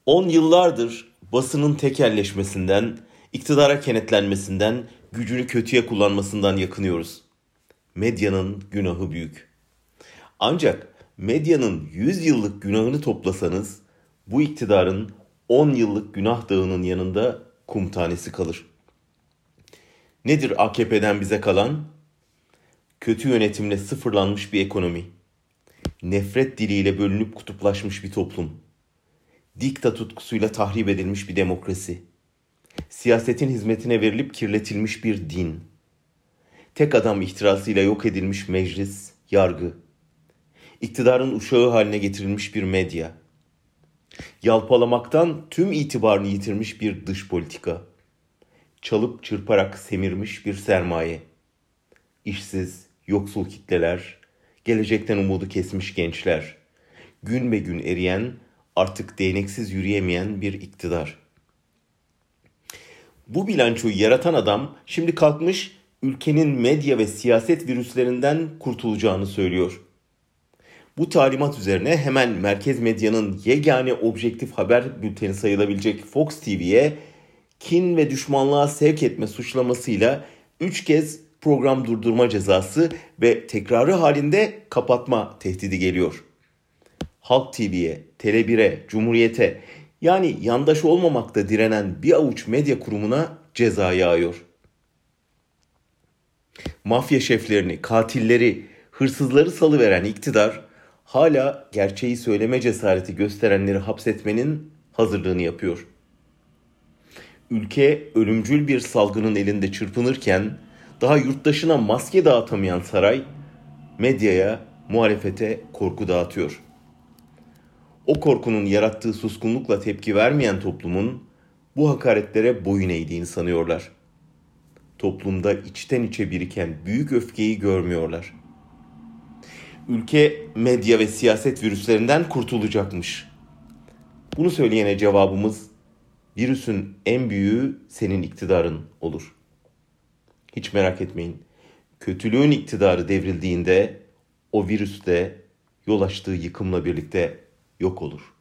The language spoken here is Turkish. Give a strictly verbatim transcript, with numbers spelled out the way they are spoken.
On yıllardır basının tekelleşmesinden, iktidara kenetlenmesinden, gücünü kötüye kullanmasından yakınıyoruz. Medyanın günahı büyük. Ancak medyanın yüz yıllık günahını toplasanız, bu iktidarın on yıllık günah dağının yanında kum tanesi kalır. Nedir A K P'den bize kalan? Kötü yönetimle sıfırlanmış bir ekonomi. Nefret diliyle bölünüp kutuplaşmış bir toplum. Dikta tutkusuyla tahrip edilmiş bir demokrasi. Siyasetin hizmetine verilip kirletilmiş bir din. Tek adam ihtirasıyla yok edilmiş meclis, yargı. İktidarın uşağı haline getirilmiş bir medya. Yalpalamaktan tüm itibarını yitirmiş bir dış politika. Çalıp çırparak semirmiş bir sermaye. İşsiz, yoksul kitleler, gelecekten umudu kesmiş gençler. Gün be gün eriyen, artık değneksiz yürüyemeyen bir iktidar. Bu bilançoyu yaratan adam şimdi kalkmış ülkenin medya ve siyaset virüslerinden kurtulacağını söylüyor. Bu talimat üzerine hemen merkez medyanın yegane objektif haber bülteni sayılabilecek Fox T V'ye kin ve düşmanlığa sevk etme suçlamasıyla üç kez program durdurma cezası ve tekrarı halinde kapatma tehdidi geliyor. Halk T V'ye, Tele bir'e, Cumhuriyet'e yani yandaş olmamakta direnen bir avuç medya kurumuna ceza yağıyor. Mafya şeflerini, katilleri, hırsızları salıveren iktidar hala gerçeği söyleme cesareti gösterenleri hapsetmenin hazırlığını yapıyor. Ülke ölümcül bir salgının elinde çırpınırken daha yurttaşına maske dağıtamayan saray medyaya, muhalefete korku dağıtıyor. O korkunun yarattığı suskunlukla tepki vermeyen toplumun bu hakaretlere boyun eğdiğini sanıyorlar. Toplumda içten içe biriken büyük öfkeyi görmüyorlar. Ülke medya ve siyaset virüslerinden kurtulacakmış. Bunu söyleyene cevabımız, virüsün en büyüğü senin iktidarın olur. Hiç merak etmeyin. Kötülüğün iktidarı devrildiğinde o virüs de yol açtığı yıkımla birlikte yok olur.